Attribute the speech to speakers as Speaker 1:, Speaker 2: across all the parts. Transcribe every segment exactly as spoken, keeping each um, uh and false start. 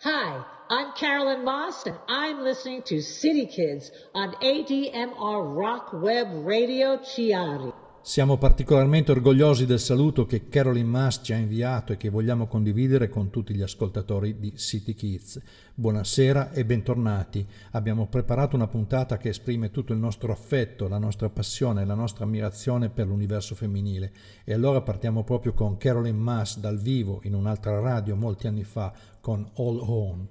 Speaker 1: Hi, I'm Carolyn Moss, and I'm listening to City Kids on A D M R Rock Web Radio Chiari.
Speaker 2: Siamo particolarmente orgogliosi del saluto che Carolyn Mass ci ha inviato e che vogliamo condividere con tutti gli ascoltatori di City Kids. Buonasera e bentornati. Abbiamo preparato una puntata che esprime tutto il nostro affetto, la nostra passione e la nostra ammirazione per l'universo femminile. E allora partiamo proprio con Carolyn Mass dal vivo in un'altra radio molti anni fa con All On.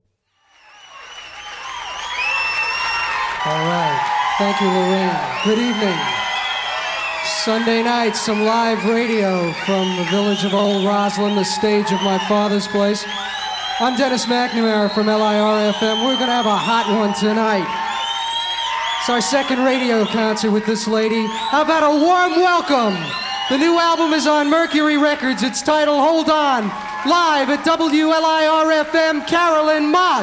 Speaker 3: All right. Thank you, Lorraine. Good evening. Sunday night, some live radio from the village of Old Roslyn, the stage of my father's place. I'm Dennis McNamara from L I R F M. We're going to have a hot one tonight. It's our second radio concert with this lady. How about a warm welcome? The new album is on Mercury Records. It's titled Hold On. Live at W L I R F M, Carolyn Moss.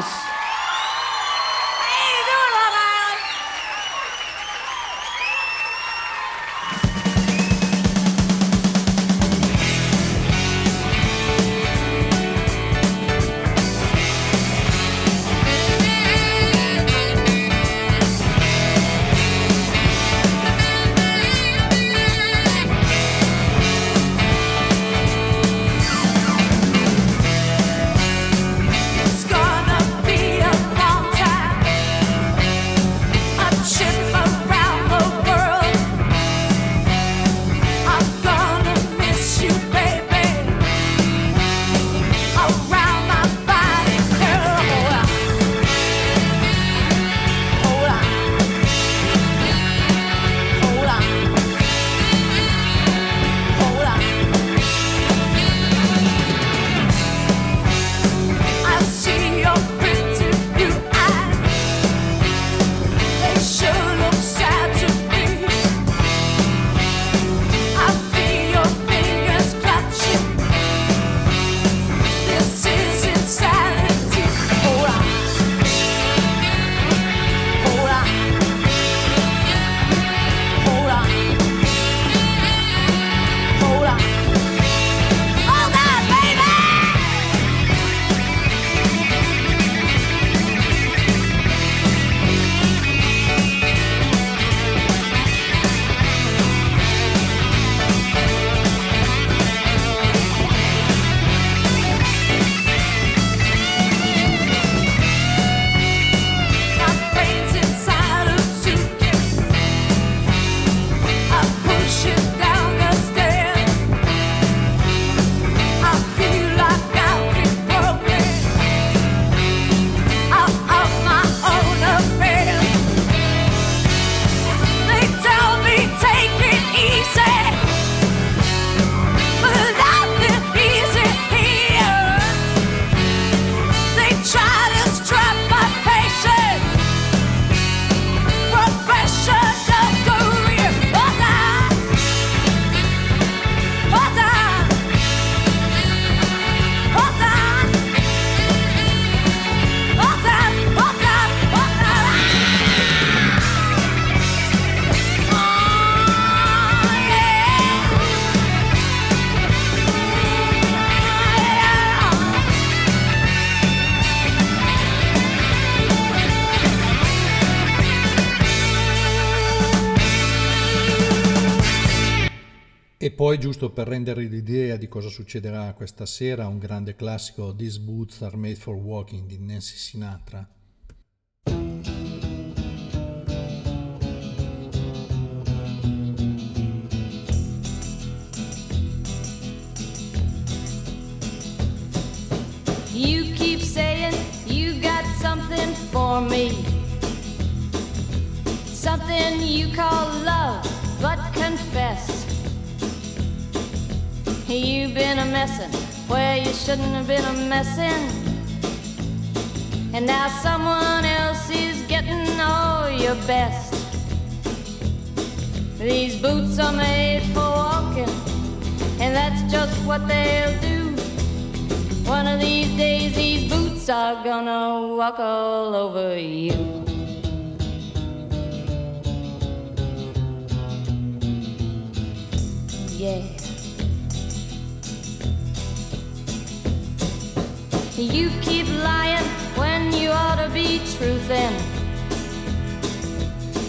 Speaker 2: E poi, giusto per rendere l'idea di cosa succederà questa sera, un grande classico, These Boots Are Made for Walking di Nancy Sinatra.
Speaker 4: You keep saying you got something for me, something you call love, but confess you've been a messin' where you shouldn't have been a messin', and now someone else is getting all your best. These boots are made for walking, and that's just what they'll do. One of these days these boots are gonna walk all over you. Yeah. You keep lying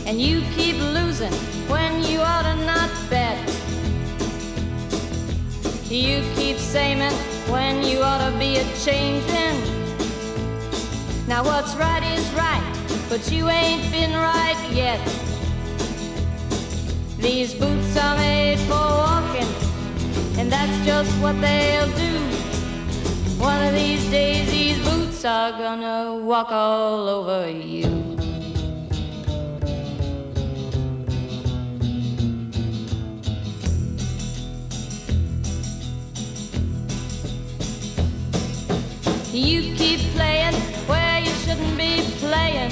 Speaker 4: and you keep losing when you ought to not bet. You keep saying when you ought to be a changing. Now what's right is right, but you ain't been right yet. These boots are made for walking, and that's just what they'll do. One of these days these boots are gonna walk all over you. You keep playing where you shouldn't be playing,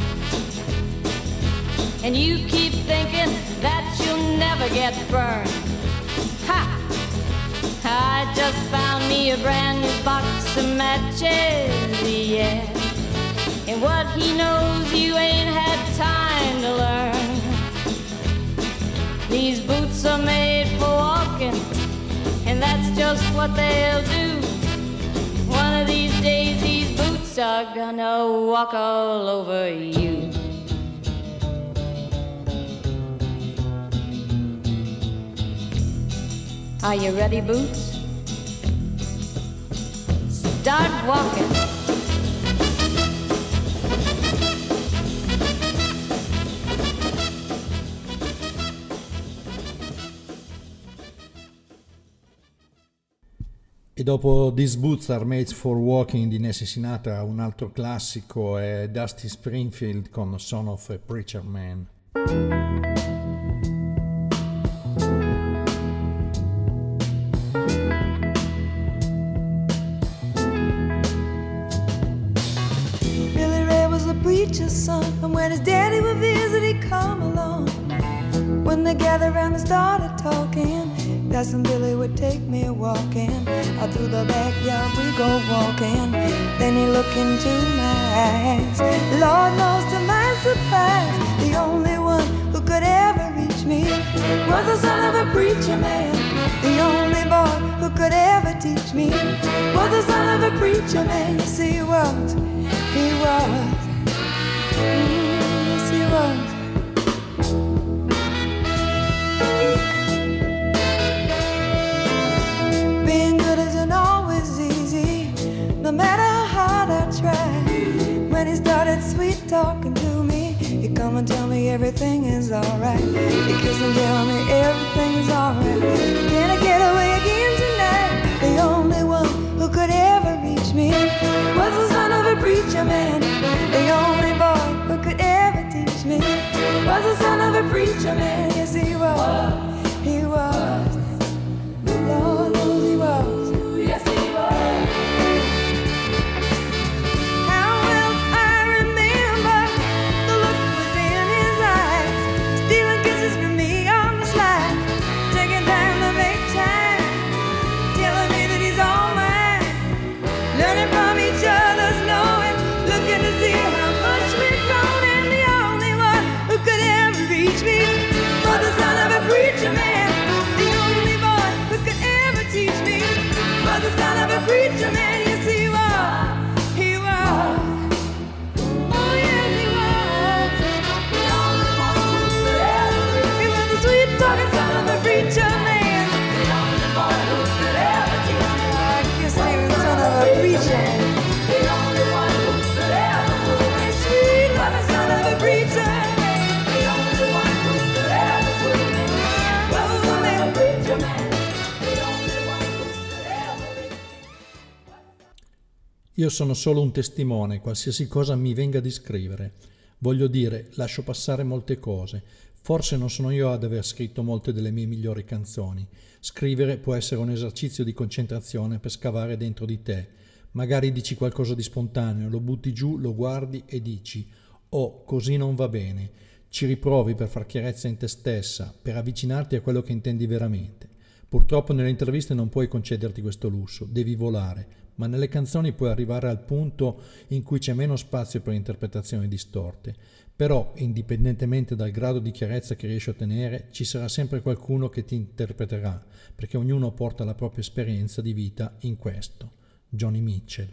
Speaker 4: and you keep thinking that you'll never get burned. Ha! I just found me a brand new box of matches, yeah. And what he knows you ain't had time to learn. These boots are made for walking, and that's just what they'll do. One of these days these boots are gonna walk all over you. Are you ready, Boots? Start walking.
Speaker 2: E dopo These Boots Are Made for Walking di Nancy Sinatra, un altro classico è Dusty Springfield con Son of a Preacher Man.
Speaker 5: Billy Ray was a preacher's son, and when his daddy would visit, he'd come along. When they gathered around and started talking, Cousin Billy would take me walking. Out through the backyard we go walking. Then he looked into my eyes. Lord knows to my surprise, the only one who could ever reach me was the son of a preacher man. The only boy who could ever teach me was the son of a preacher man. Yes, he was, he was, mm, yes, he was. No matter how hard I tried, when he started sweet talking to me, he'd come and tell me everything is alright. He'd kiss and tell me everything is alright. Can I get away again tonight? The only one who could ever reach me was the son of a preacher man. The only boy who could ever teach me was the son of a preacher man. Yes, he was, he was, Lord knows he was. Yes, he was. Preacher man, yes he was, he was, oh yes he was, the only one who could ever reach. He was the sweet talking son of a preacher man, the only boy who could ever teach me. I guess he was the son of a preacher, the only one who could ever fool me. Sweet was the son of a preacher, the only one who could ever fool me. Was the son of a preacher man.
Speaker 2: Io sono solo un testimone, qualsiasi cosa mi venga di scrivere. Voglio dire, lascio passare molte cose. Forse non sono io ad aver scritto molte delle mie migliori canzoni. Scrivere può essere un esercizio di concentrazione per scavare dentro di te. Magari dici qualcosa di spontaneo, lo butti giù, lo guardi e dici «Oh, così non va bene». Ci riprovi per far chiarezza in te stessa, per avvicinarti a quello che intendi veramente. Purtroppo nelle interviste non puoi concederti questo lusso, devi volare. Ma nelle canzoni puoi arrivare al punto in cui c'è meno spazio per interpretazioni distorte. Però, indipendentemente dal grado di chiarezza che riesci a ottenere, ci sarà sempre qualcuno che ti interpreterà, perché ognuno porta la propria esperienza di vita in questo. Joni Mitchell.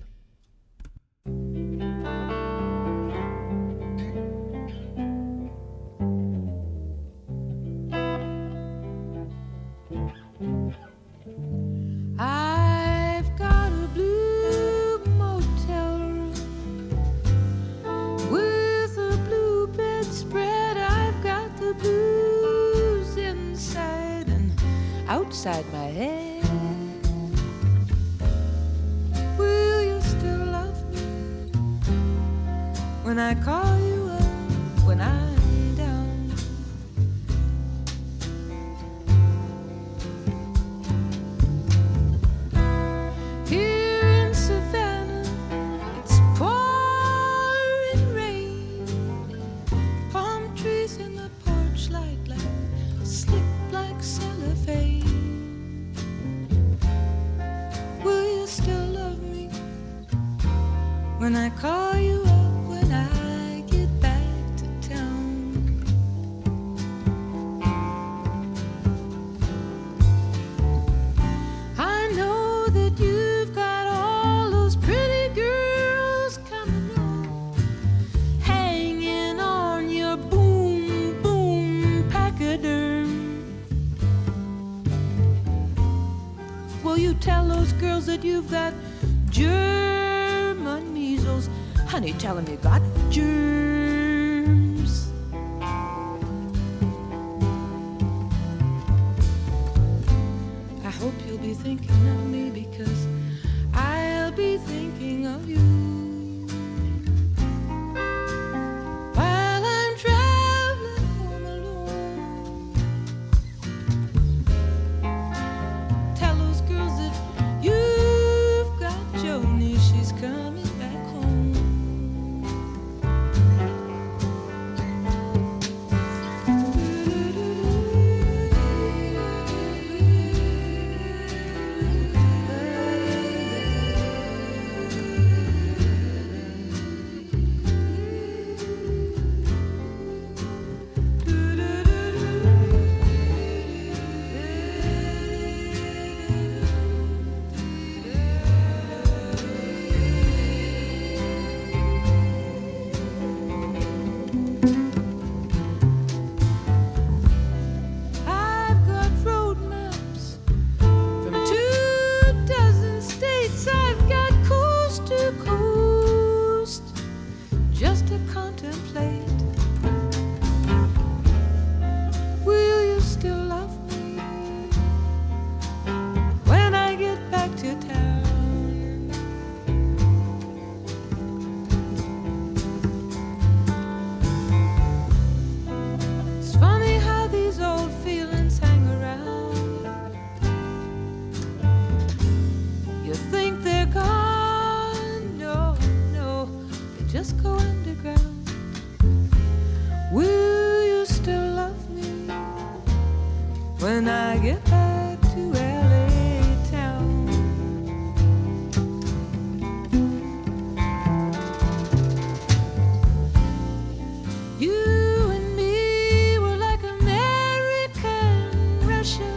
Speaker 5: outside my head. Will you still love me when I call you up, when I'm down? Here in Savannah, it's pouring rain. Palm trees in the porch light like slick like cellophane. Will you still love me when I call you up, when I get back to town? I know that you've got all those pretty girls coming on, hanging on your boom, boom pachyderm. Will you tell those girls that you've got German measles? Honey, tell them you got germs. I hope you'll be thinking of me, because I'll be thinking of you while I'm traveling home alone. Tell those girls that you've got Joni, she's coming back home. I've got road maps from two dozen states. I've got coast to coast just to contemplate. Will you still love me when I get back to town? It's funny how these old feelings hang around. You think they're gone? No, no, they just go underground. Will you still love me when I get back to L A town? You and me were like American Russia.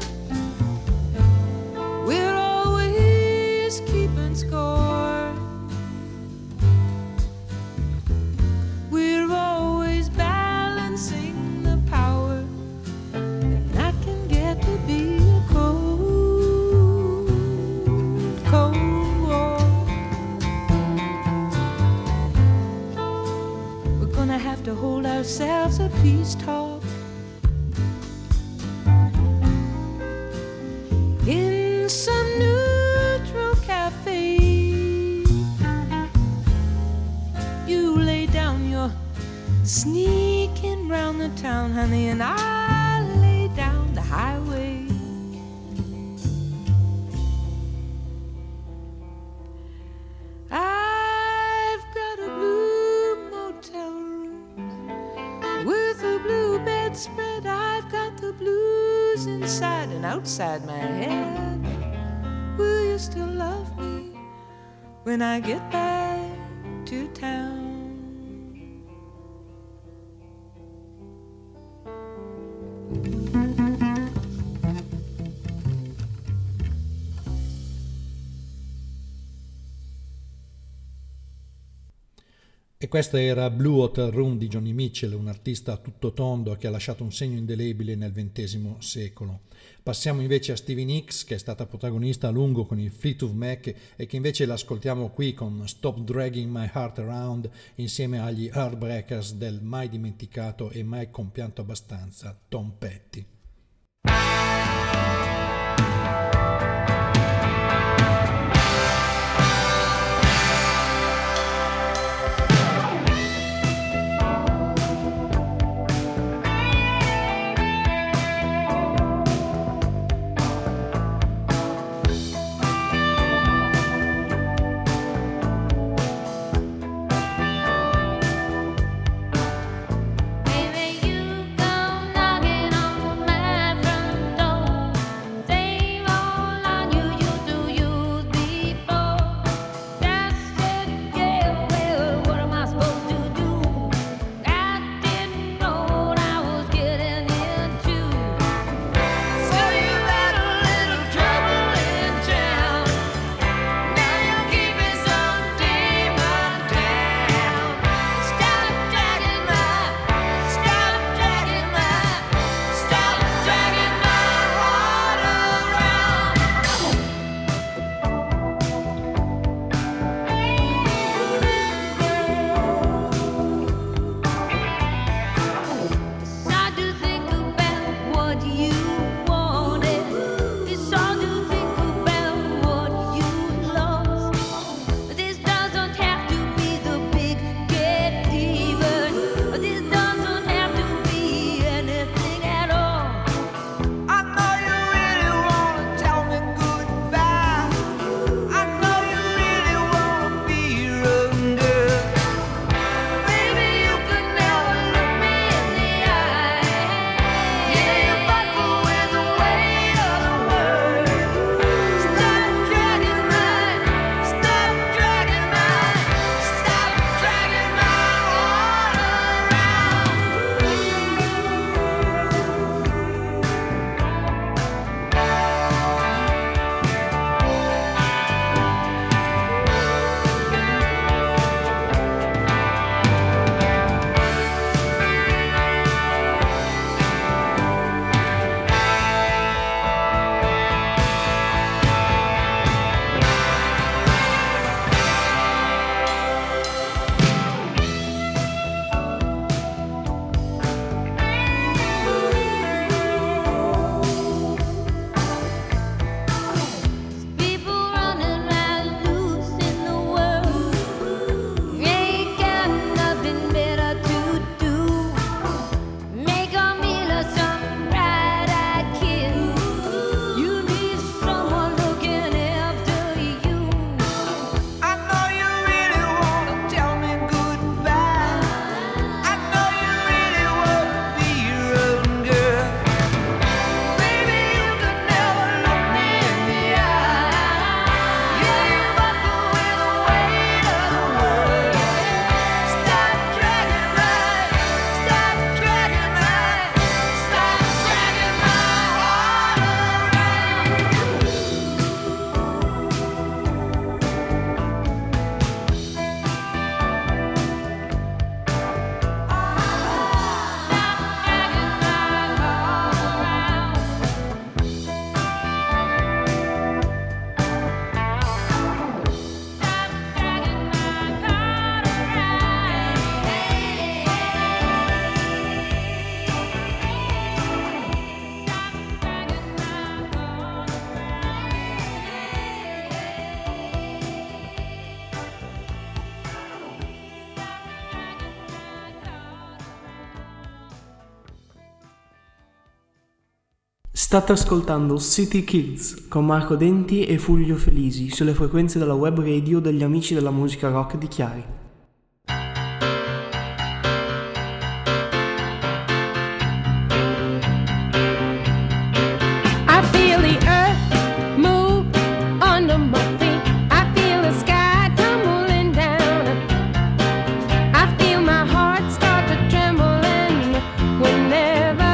Speaker 5: We're always keeping score. We're always balancing the power, and I can get to be a cold, cold war. We're gonna have to hold ourselves a peace talk in some neutral cafe. You lay down your sneaking round the town, honey, and I lay down the highway. I've got a blue motel room with a blue bedspread. I've got the blues inside and outside my head. Will you still love me when I get back to town?
Speaker 2: E questa era Blue Hotel Room di Joni Mitchell, un artista a tutto tondo che ha lasciato un segno indelebile nel ventesimo secolo. Passiamo invece a Stevie Nicks, che è stata protagonista a lungo con il Fleetwood Mac e che invece l'ascoltiamo qui con Stop Dragging My Heart Around insieme agli Heartbreakers del mai dimenticato e mai compianto abbastanza Tom Petty.
Speaker 6: State ascoltando City Kids con Marco Denti e Fulvio Felisi sulle frequenze della web radio degli amici della musica rock di Chiari.
Speaker 7: I feel the earth move under my feet. I feel the sky tumbling down. I feel my heart start to trembling whenever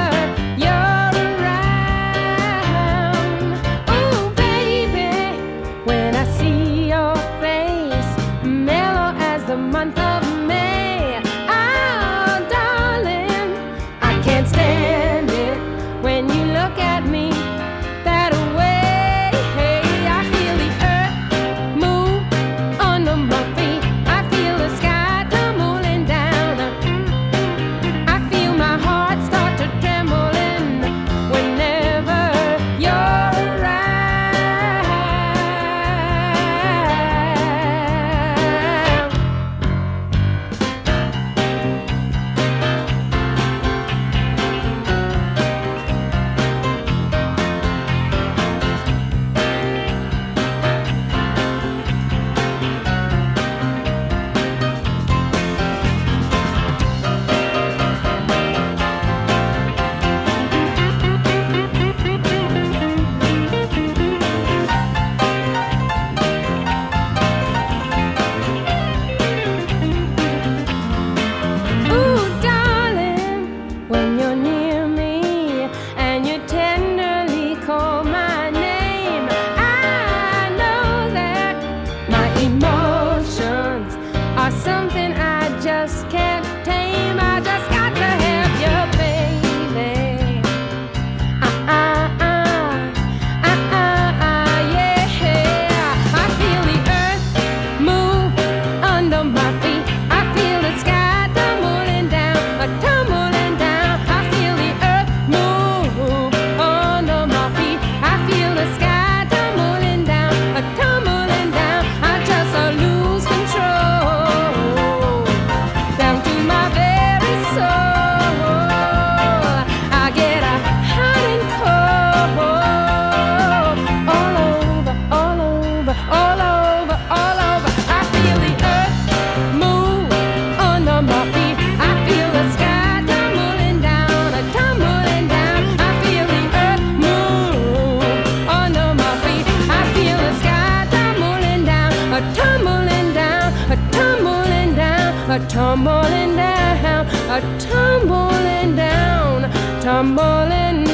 Speaker 7: tumbling down, a tumbling down, tumbling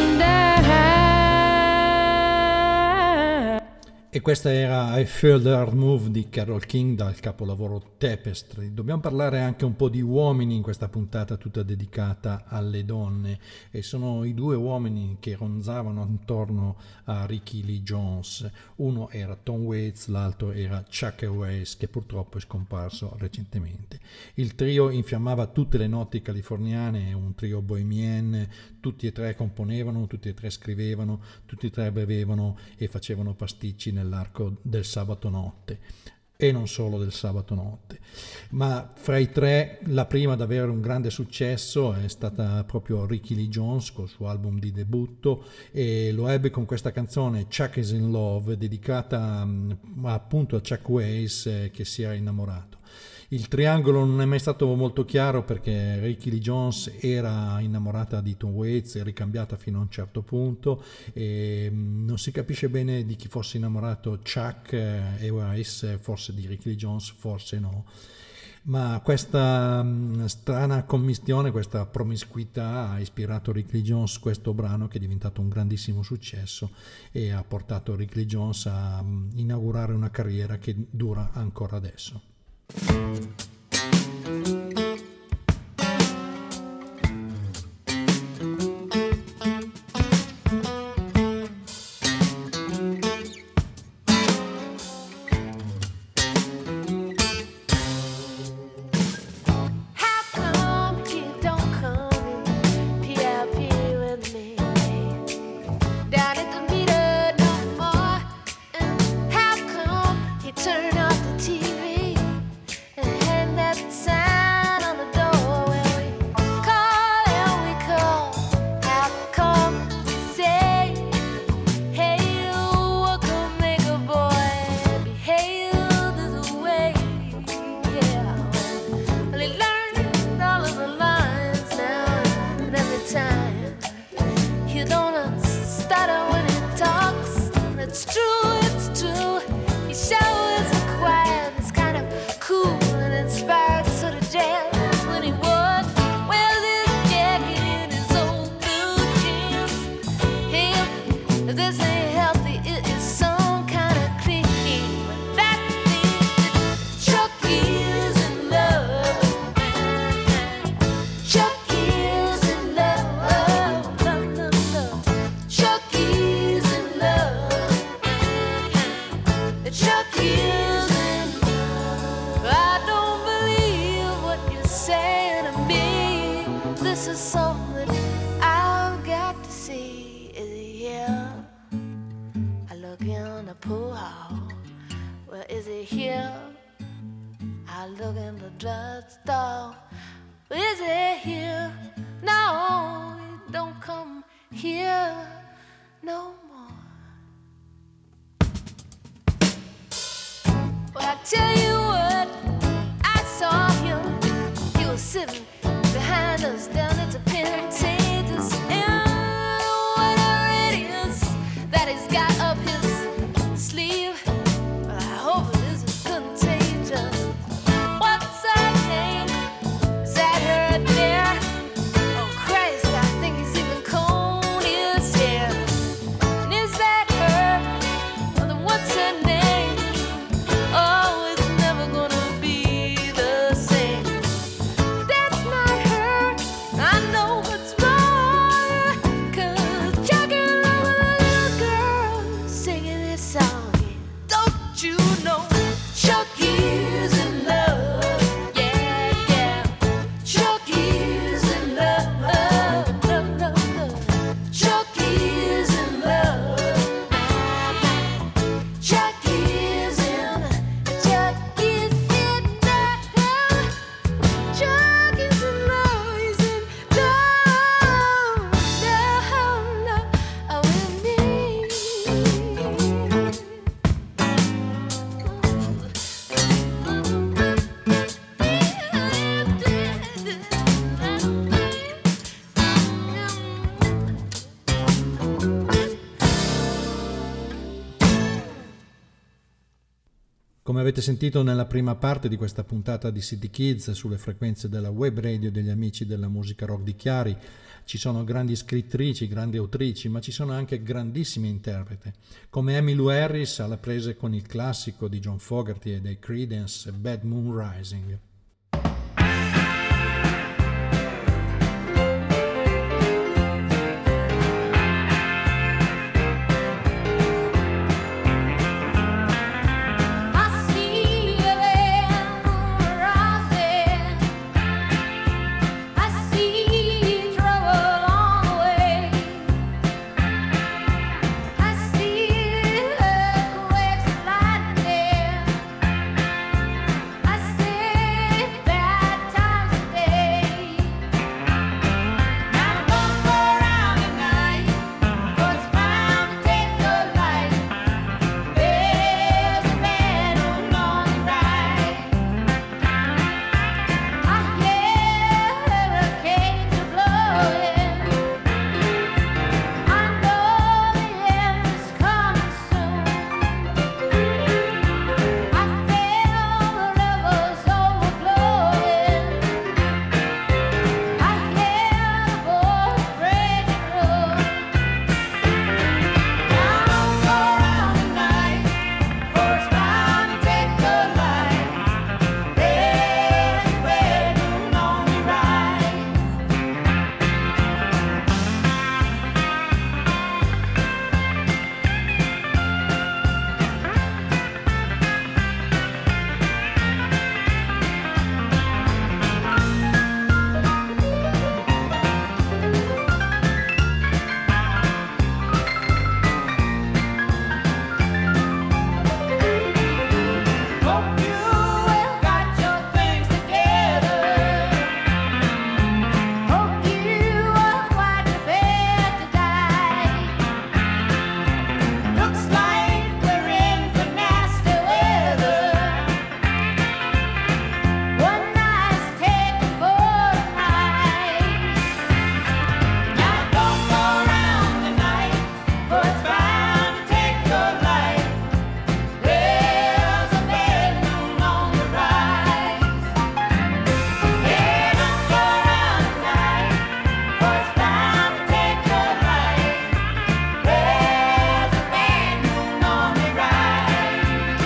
Speaker 7: down.
Speaker 2: E questa era I Feel the Earth Move di Carole King dal capolavoro Tapestry. Dobbiamo parlare anche un po' di uomini in questa puntata tutta dedicata alle donne, e sono i due uomini che ronzavano attorno a Rickie Lee Jones. Uno era Tom Waits, l'altro era Chuck Weiss, che purtroppo è scomparso recentemente. Il trio infiammava tutte le notti californiane, un trio bohemien, tutti e tre componevano, tutti e tre scrivevano, tutti e tre bevevano e facevano pasticci nell'arco del sabato notte, e non solo del sabato notte. Ma fra i tre la prima ad avere un grande successo è stata proprio Rickie Lee Jones col suo album di debutto, e lo ebbe con questa canzone Chuck is in Love, dedicata appunto a Chuck Weiss, eh, che si era innamorato. Il triangolo non è mai stato molto chiaro, perché Rickie Lee Jones era innamorata di Tom Waits e ricambiata fino a un certo punto, e non si capisce bene di chi fosse innamorato Chuck e Weiss, forse di Rickie Lee Jones, forse no. Ma questa um, strana commistione, questa promiscuità ha ispirato Rickie Lee Jones questo brano, che è diventato un grandissimo successo e ha portato Rickie Lee Jones a um, inaugurare una carriera che dura ancora adesso.
Speaker 7: Turn off the T V and
Speaker 8: pool hall. Well, is he here? I look in the drugstore. Is he here? No, he don't come here no more. Well, I tell you what, I saw him. He was sitting behind us down at the Pentatus. And whatever it is that he's got up his sleeve, well, I hope it isn't contagious. What's her name? Is that her there? Oh Christ, I think he's even combed his hair. And is that her? Well, then what's her name? Oh, it's never gonna be the same. That's not her. I know what's wrong. 'Cause jogging over the little girl singing this song. Don't you know Chucky's in love? Yeah, yeah. Chucky's in love. Love, love, love. Chucky's in love. Chucky's in, Chucky's in love. Chucky's in love. He's in love, love, love with me.
Speaker 2: Come avete sentito nella prima parte di questa puntata di City Kids sulle frequenze della web radio degli amici della musica rock di Chiari, ci sono grandi scrittrici, grandi autrici, ma ci sono anche grandissimi interpreti, come Emmylou Harris alla prese con il classico di John Fogerty e dei Creedence, Bad Moon Rising.
Speaker 8: I see the land rising. I see trouble on the way. I see earthquakes and lightning. I see bad times today. Now don't go around at night, 'cause it's bound to take your life. There's a man who's on the rise. I hear hurricanes are blowing. I know the end is coming soon. I feel the rivers overflowing. I hear the boats breaking through. Don't go around at night, for it's bound to take your life. There's a red moon on the rise. Hope you have got your things together. Hope you are quite prepared to die. Looks like we're in for nasty weather. One night's taken for a night. Now don't go around tonight, for it's bound to take your life. There's a bad moon on the rise. Yeah, don't go around tonight, for it's bound to take your life. There's a bad moon on the rise.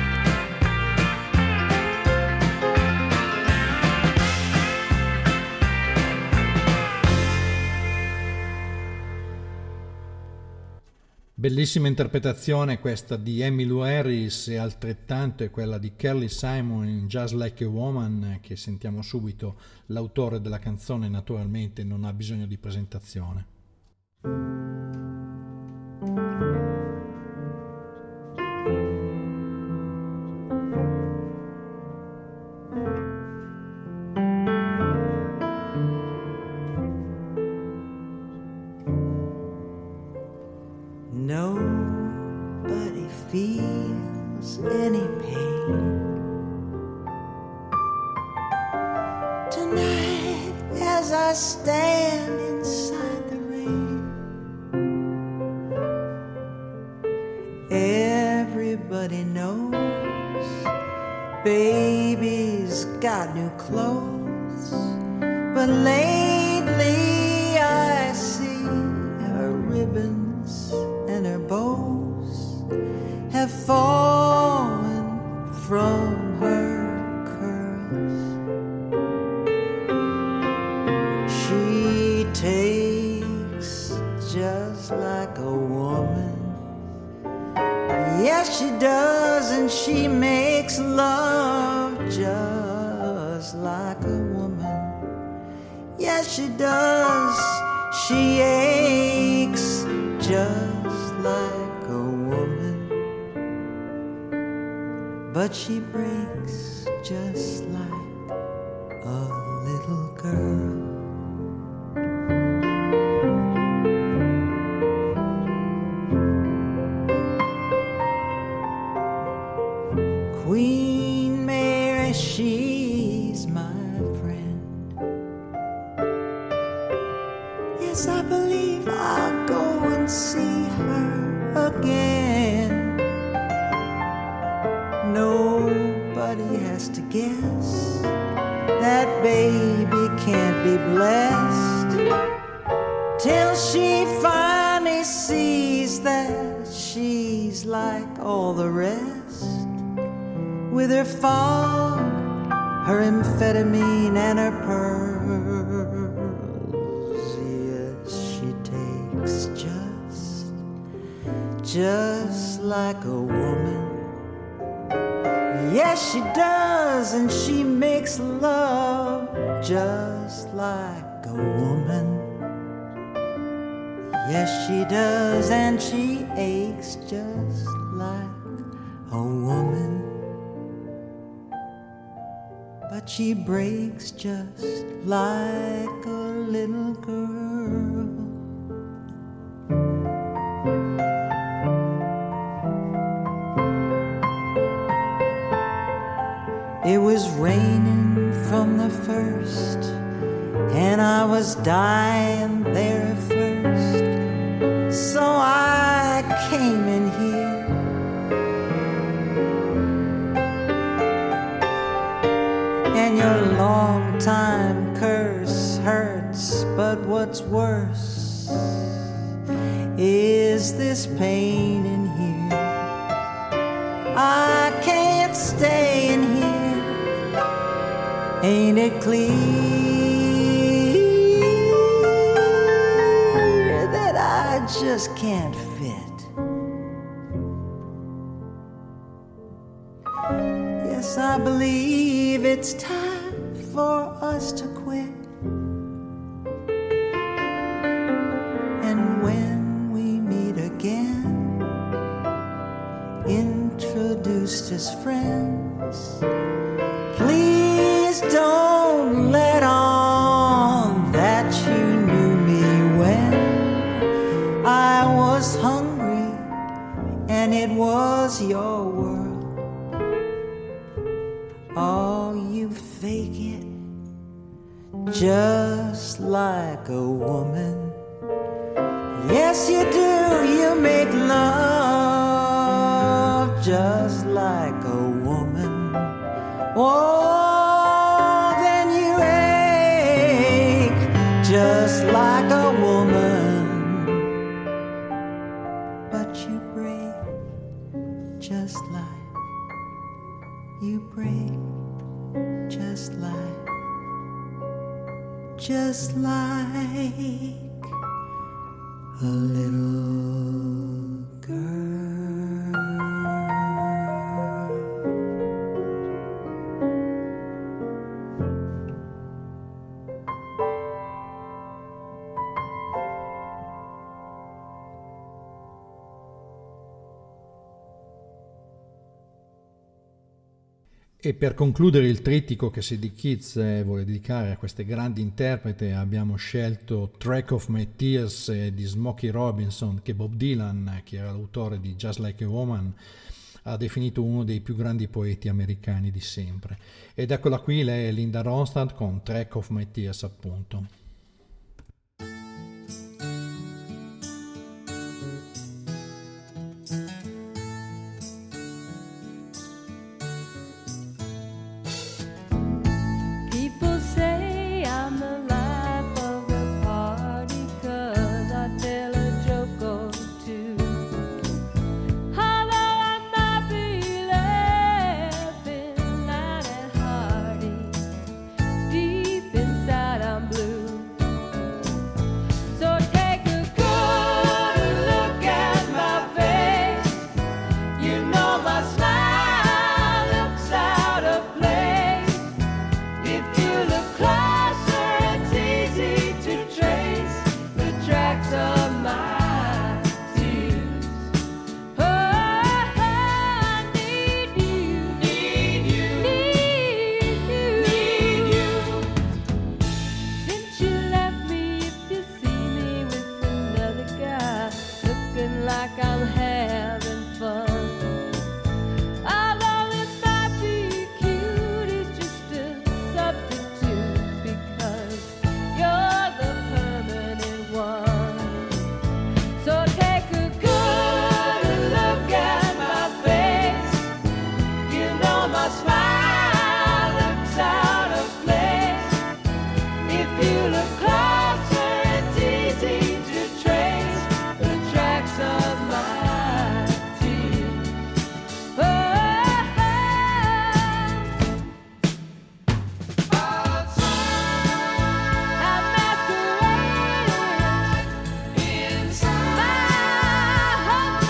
Speaker 2: Bellissima interpretazione questa di Emmylou Harris e altrettanto è quella di Carly Simon in Just Like a Woman, che sentiamo subito. L'autore della canzone naturalmente non ha bisogno di presentazione.
Speaker 9: night as I stand inside the rain, everybody knows baby's got new clothes, but lately I see her ribbons and her bows have fallen from her curls. She takes just like a woman, yes she does, and she makes love just like a woman, yes she does. She aches just like a woman, but she breaks just like a little girl. Queen Mary, she's my friend. Yes, I believe I'll go and see her again. Nobody has to guess that baby can't be blessed till she finally sees that she's like all the rest, with her fog, her amphetamine, and her pearls. Yes, she takes just, just like a woman. Yes, she does, and she makes love just like a woman. Yes, she does, and she aches just like a woman. But she breaks just like a little girl. It was raining from the first, and I was dying there at first, so I came in here. And your long time curse hurts, but what's worse is this pain in here. I can't stay in here. Ain't it clear that I just can't fit? Yes, I believe it's time for us to quit. And when we meet again, introduced as friends, please don't let on that you knew me when I was hungry and it was your world. Oh, you fake it just like a woman. Yes, you do. You make love just like a woman. Oh, then you ache just like a woman. But you break just like, you break just like, just like a little girl.
Speaker 2: E per concludere il trittico che Sadie Keats vuole dedicare a queste grandi interpreti, abbiamo scelto Track of My Tears di Smokey Robinson, che Bob Dylan, che era l'autore di Just Like a Woman, ha definito uno dei più grandi poeti americani di sempre. Ed eccola qui, lei è Linda Ronstadt con Track of My Tears, appunto.
Speaker 4: People say I'm the life of the party 'cause I tell a joke or two. Although I might be laughing loud and hearty, deep inside I'm blue. So take a good look at my face. You know my smile looks out of place. If you look closer, it's easy to trace the tracks of my tears. Oh, I need you, need you, need you, need you. Since you left me, if you see me with another guy, looking like I'm having fun. Although it might be cute, it's just a substitute because you're the permanent one. So take a good look at my face. You know my smile looks out of place. If you look closer, it's easy to trace the tracks of my tears. Oh, I'm masquerading inside my heart's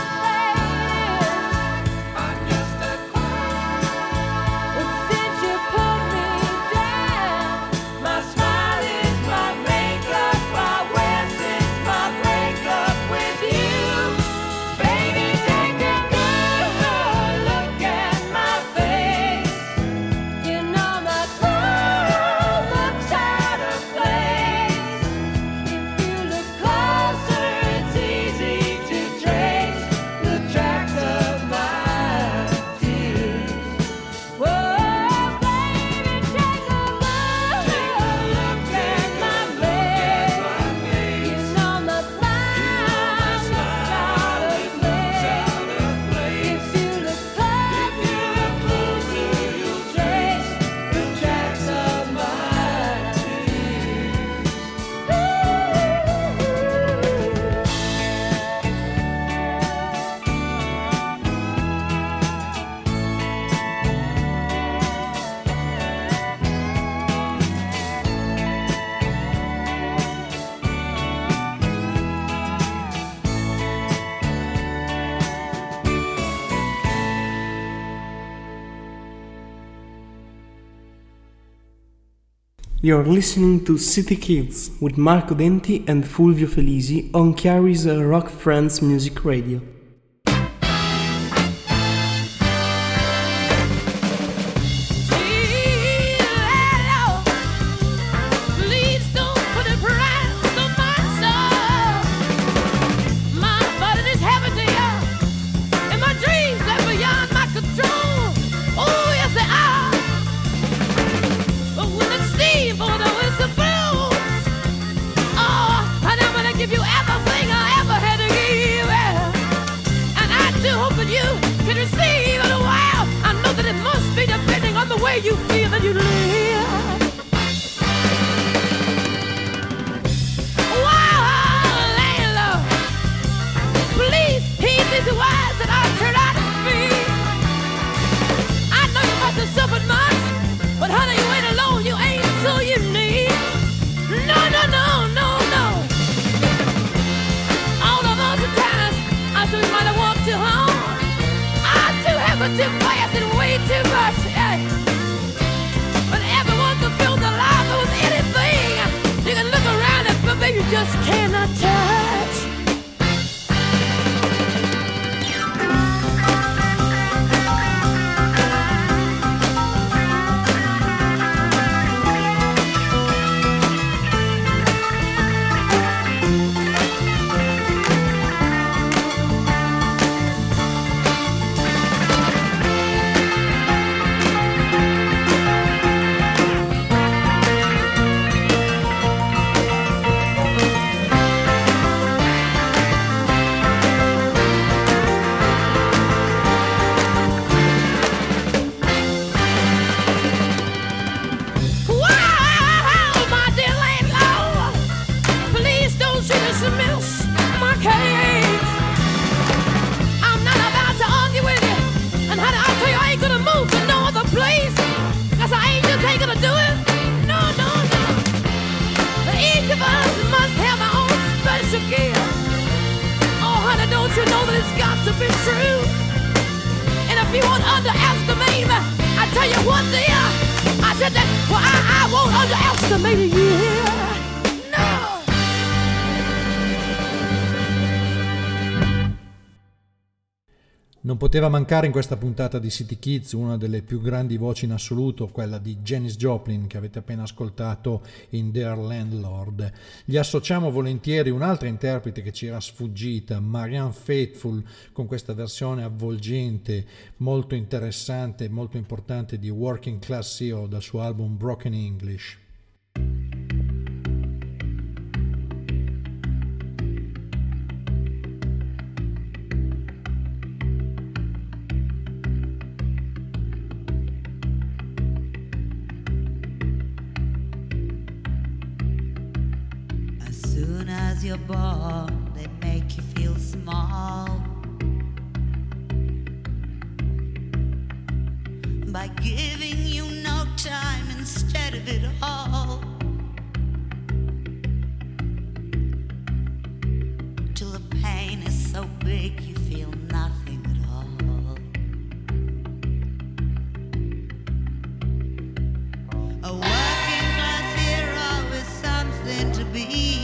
Speaker 4: I'm just a clown. Since you put me down, my smile is my makeup. My West is my breakup with you. Baby, take a good look at my face. You know my smile looks out of place. If you look closer, it's easy to trace the tracks of my tears. Whoa, baby, take a good look at my face. You know my smile looks out of place. If you look closer, it's easy to trace the tracks of my
Speaker 6: You're listening to City Kids with Marco Denti and Fulvio Felisi on Chiari's Rock Friends Music Radio.
Speaker 7: Please don't put a price on my soul. My body is heavy to you, and my dreams are beyond my control. Oh, yes, they are. But when the steam for the whistle blows, oh, and I'm gonna give you everything I ever had to give. it's got to be true. And if you won't underestimate me, I tell you what, dear, I said that, well, I, I won't underestimate you. No.
Speaker 2: Non poteva mancare in questa puntata di City Kids una delle più grandi voci in assoluto, quella di Janis Joplin, che avete appena ascoltato in Dear Landlord. Gli associamo volentieri un'altra interprete che ci era sfuggita, Marianne Faithfull, con questa versione avvolgente, molto interessante e molto importante di Working Class Hero dal suo album Broken English.
Speaker 10: You're born, they make you feel small by giving you no time instead of it all, till the pain is so big you feel nothing at all. A working class hero is something to be.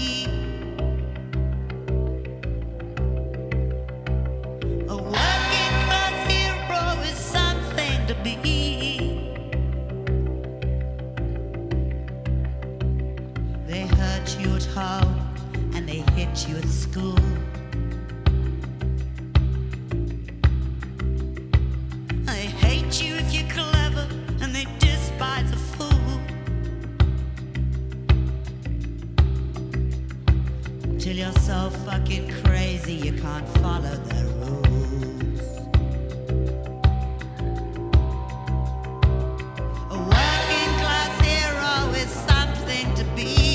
Speaker 10: And they hit you at school. They hate you if you're clever, and they despise a fool. Till you're so fucking crazy you can't follow their rules. A working class hero is something to be.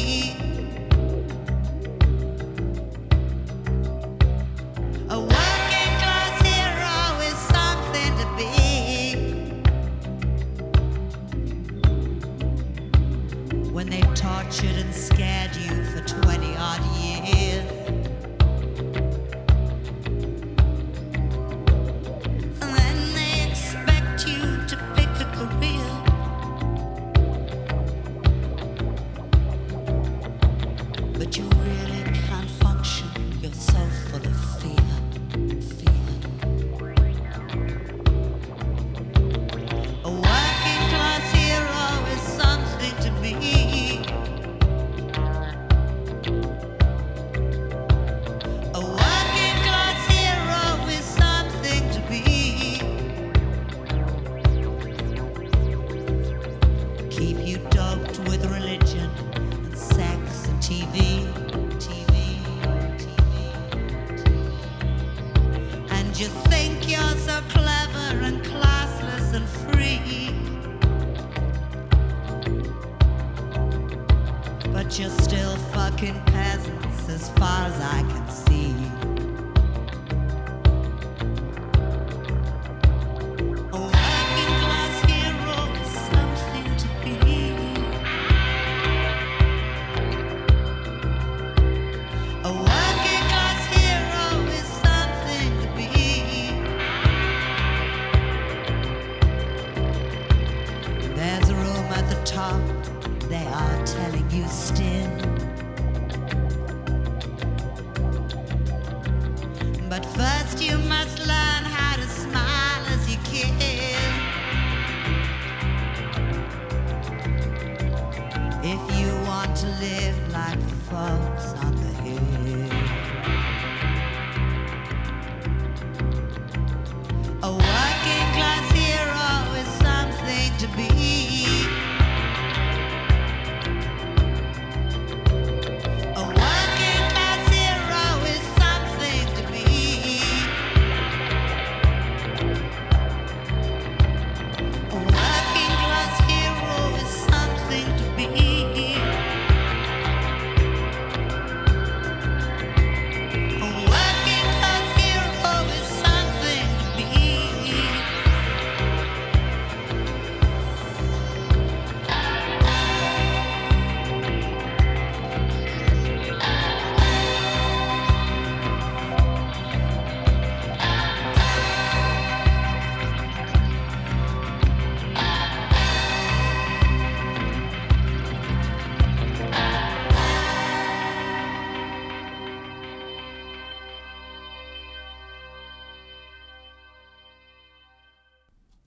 Speaker 10: Tortured and scared you for twenty odd years, and then they expect you to pick a career. But you really can't function, you're so full of fear, fear. A working class hero is something to be. You're still fucking peasants as far as I can see. A working class hero is something to be. A working class hero is something to be. There's a room at the top, they are telling you still. But first you must learn how to smile as you kiss. If you want to live like the folks on the hill. A working class hero is something to be.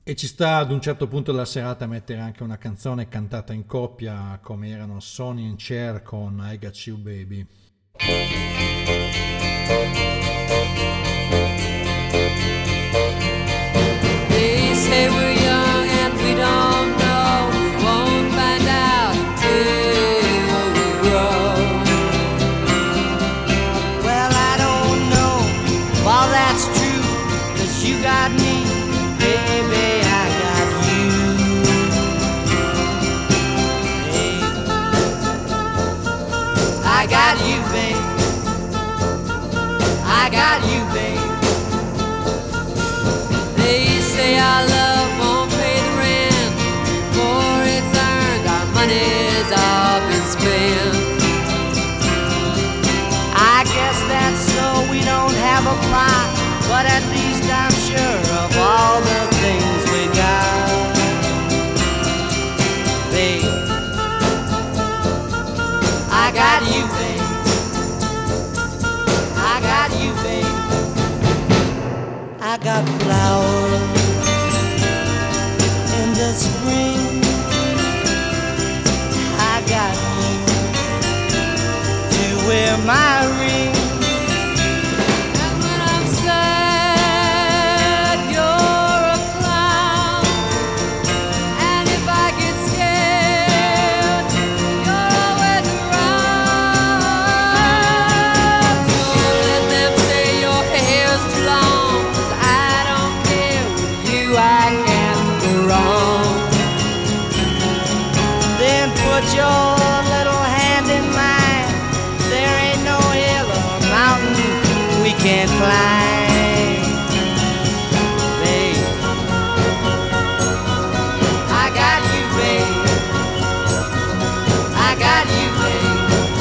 Speaker 2: E ci sta ad un certo punto della serata a mettere anche una canzone cantata in coppia come erano Sonny and Cher con I Got You Baby.
Speaker 11: They say we're young and we don't know. We won't find out until we grow.
Speaker 9: Well, I don't know if all that's true, 'cause you got me, baby, I got you. Hey, I got you, babe. I got you, babe.
Speaker 11: They say our love won't pay the rent before it's earned. Our money's all been spent.
Speaker 9: I guess that's so we don't have a plot, but at least I'm sure of all the things we got. Babe, I got you, babe. I got you, babe. I got flowers in the spring. I got you to wear my ring.
Speaker 11: And when I'm sad, you're a clown. And if I get scared, you're always around. So let them say your hair's too long, 'cause I don't care. With you I can't go wrong.
Speaker 9: Then put your little hand in mine. There ain't no hill or mountain we can't climb. Babe, I got you, babe. I got you, babe.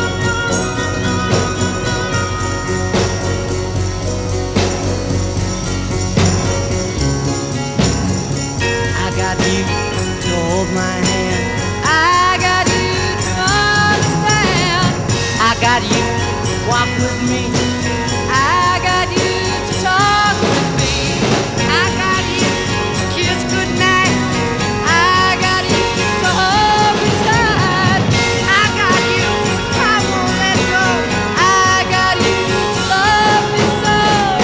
Speaker 9: I got you to hold my hand.
Speaker 11: I got you to understand.
Speaker 9: I got you to walk with me.
Speaker 11: I got you to talk with me.
Speaker 9: I got you to kiss goodnight.
Speaker 11: I got you to hold me tight.
Speaker 9: I got you, I won't let go.
Speaker 11: I got you to love me so.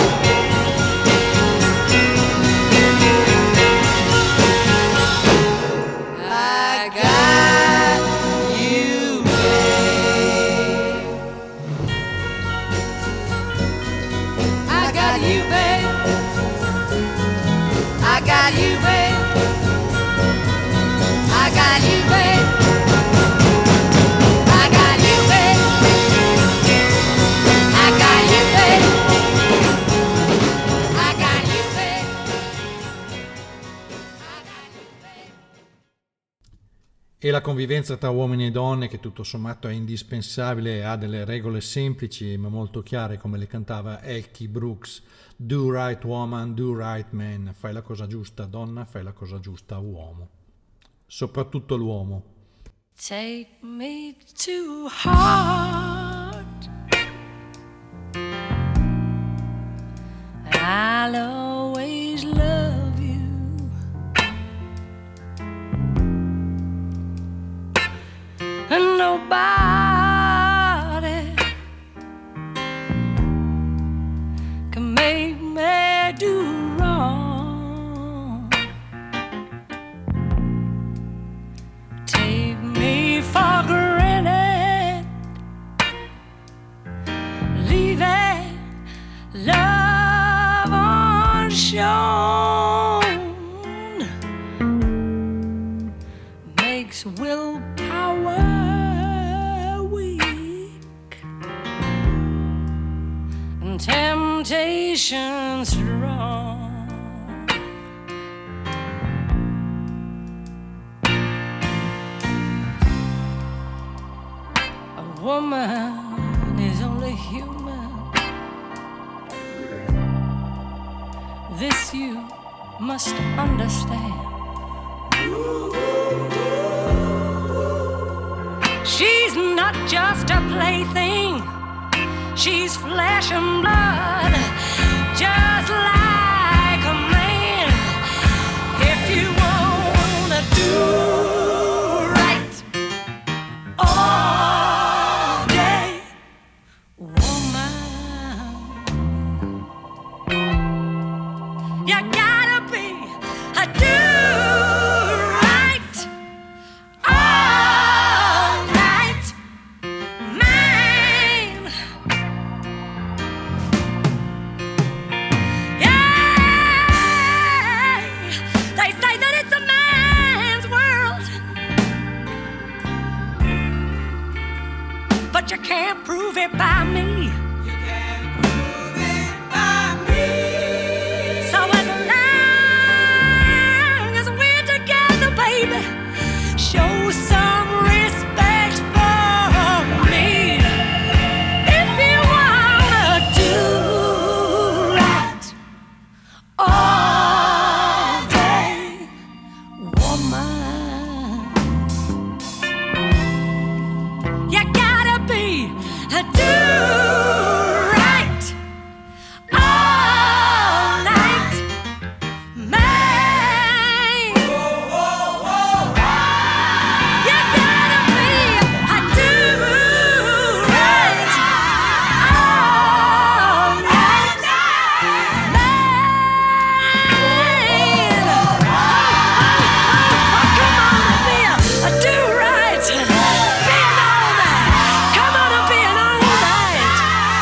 Speaker 11: I got you, babe. I got you, babe.
Speaker 9: I got you, babe.
Speaker 11: I got you, babe.
Speaker 9: I got you, babe.
Speaker 11: I got you, babe. I got you, babe.
Speaker 2: E la convivenza tra uomini e donne, che tutto sommato è indispensabile e ha delle regole semplici ma molto chiare, come le cantava Elkie Brooks. Do right woman, do right man. Fai la cosa giusta donna, fai la cosa giusta uomo. Soprattutto l'uomo.
Speaker 11: Take me to heart. I'll always love you. And nobody can make me do wrong. Take me for granted, leaving love unshown, makes willpower weak and temptation strong. A woman is only human. This you must understand. She's not just a plaything, she's flesh and blood, just like a man. If you
Speaker 5: do right all day, woman. You gotta be a do right all night, man. Yeah, they say that it's a man's world, but you can't prove it by me. You can't prove it by me. So as long as we're together, baby, show some respect for me. If you wanna do right all day, woman, you gotta be a do right all night, man. You gotta be a do right all night, man. Come on and be a, a do right, be an all night. Come on and be an all night,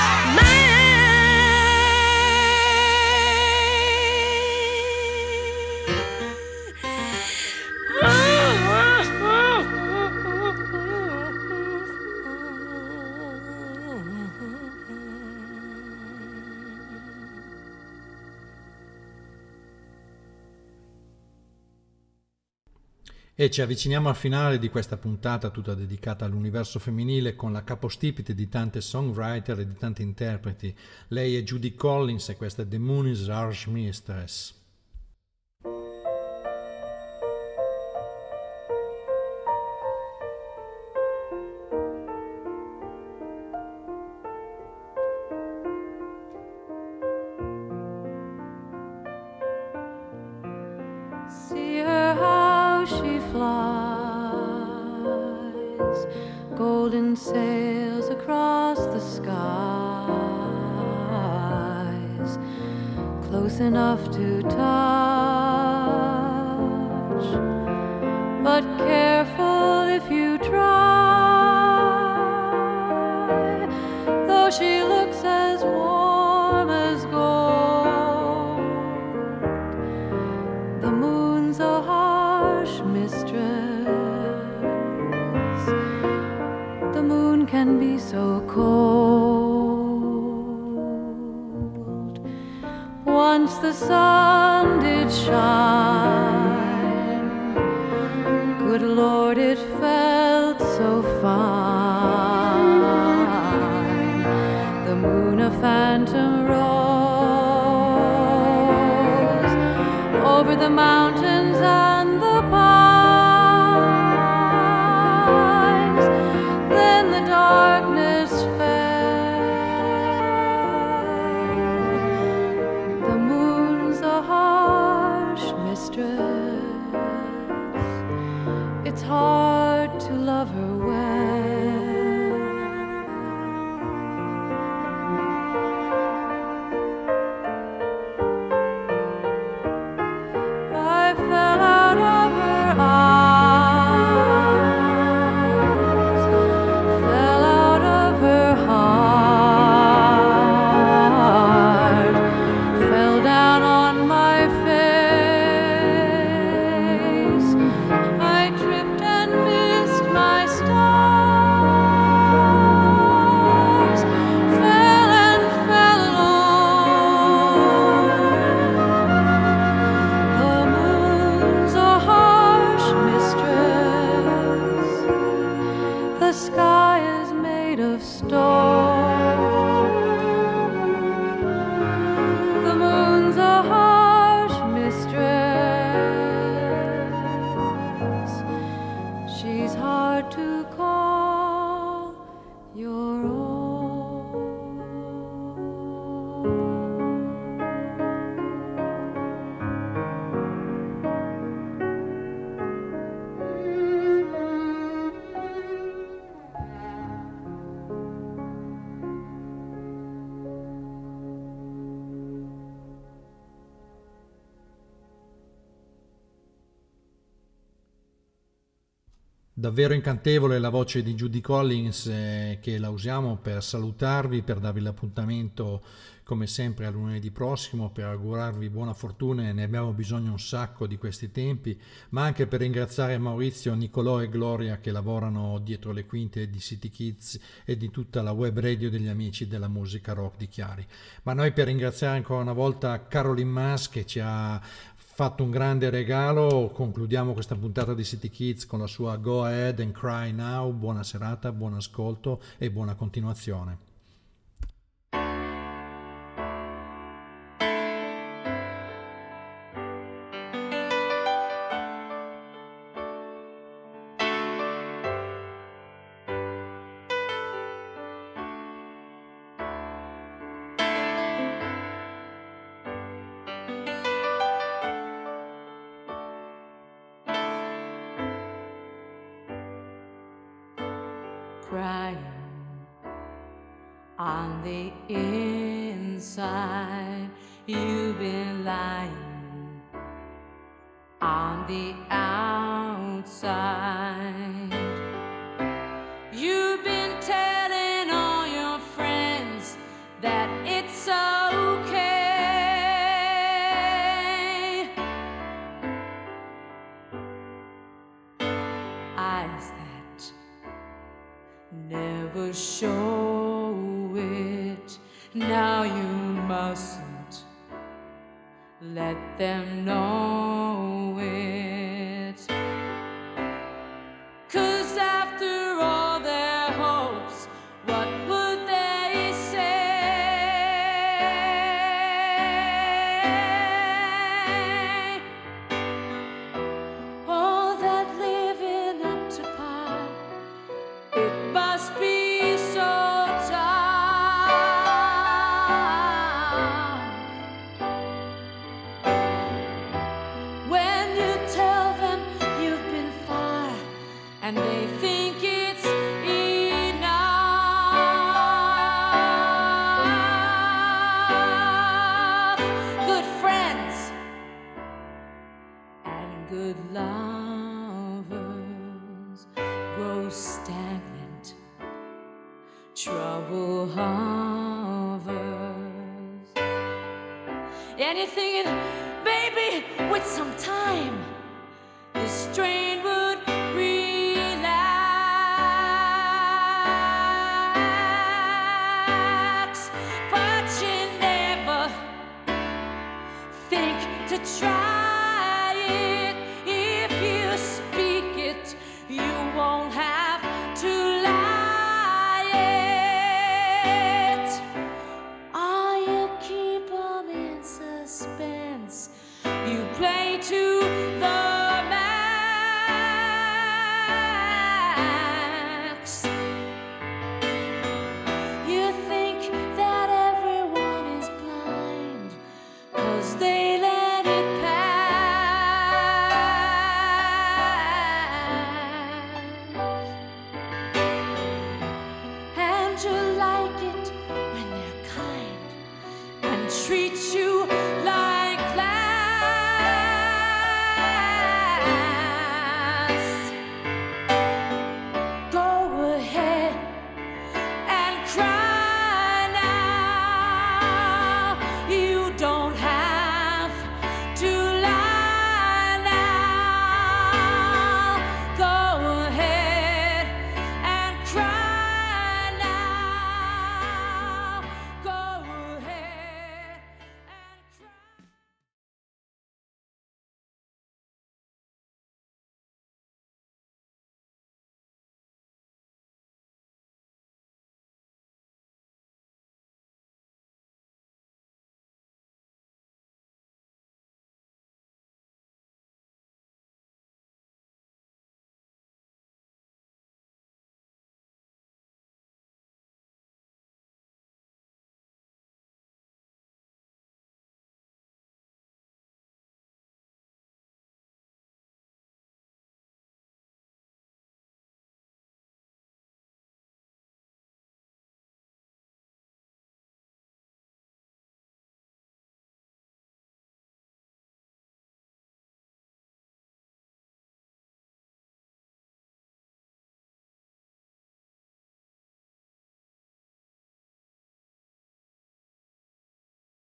Speaker 2: E ci avviciniamo al finale di questa puntata tutta dedicata all'universo femminile con la capostipite di tante songwriter e di tanti interpreti. Lei è Judy Collins e questa è The Moon is Harsh Mistress.
Speaker 12: See her how she flies, golden sails across the skies, close enough to touch, but careful if you try, though she looks as warm as gold. The moon's a harsh mistress. The moon can be so cold. Once the sun did shine, good Lord, it felt so fine. The moon a phantom rose over the mountains and the pines. Then the darkness fell. The moon's a harsh mistress. It's hard to love her well. I fell out of her eyes, fell out of her heart, fell down on my face. I tripped and missed my stars, fell and fell alone. The moon's a harsh mistress. The sky is made of stone. The moon's a harsh mistress. She's hard to call your own.
Speaker 2: Davvero incantevole la voce di Judy Collins, eh, che la usiamo per salutarvi, per darvi l'appuntamento come sempre a lunedì prossimo, per augurarvi buona fortuna, e ne abbiamo bisogno un sacco di questi tempi, ma anche per ringraziare Maurizio, Nicolò e Gloria che lavorano dietro le quinte di City Kids e di tutta la web radio degli amici della musica rock di Chiari. Ma noi per ringraziare ancora una volta Caroline Mas che ci ha fatto un grande regalo, concludiamo questa puntata di City Kids con la sua Go Ahead and Cry Now. Buona serata, buon ascolto e buona continuazione.
Speaker 12: Crying on the inside, you've been lying on the outside. You've been telling all your friends that it's okay. Eyes that never show it. Now you mustn't let them know it. 'Cause after all their hopes, what would they say? All that living up to par, it must be so tough. When you tell them you've been far and they think it's enough. Good friends and good lovers grow stagnant, trouble hovers. And you're thinking, baby, with some time, this strain would relax. But you never think to try it. If you speak it, you won't have to lie it. Or you keep them in suspense. You play to the max. You think that everyone is blind 'cause they let it pass. And you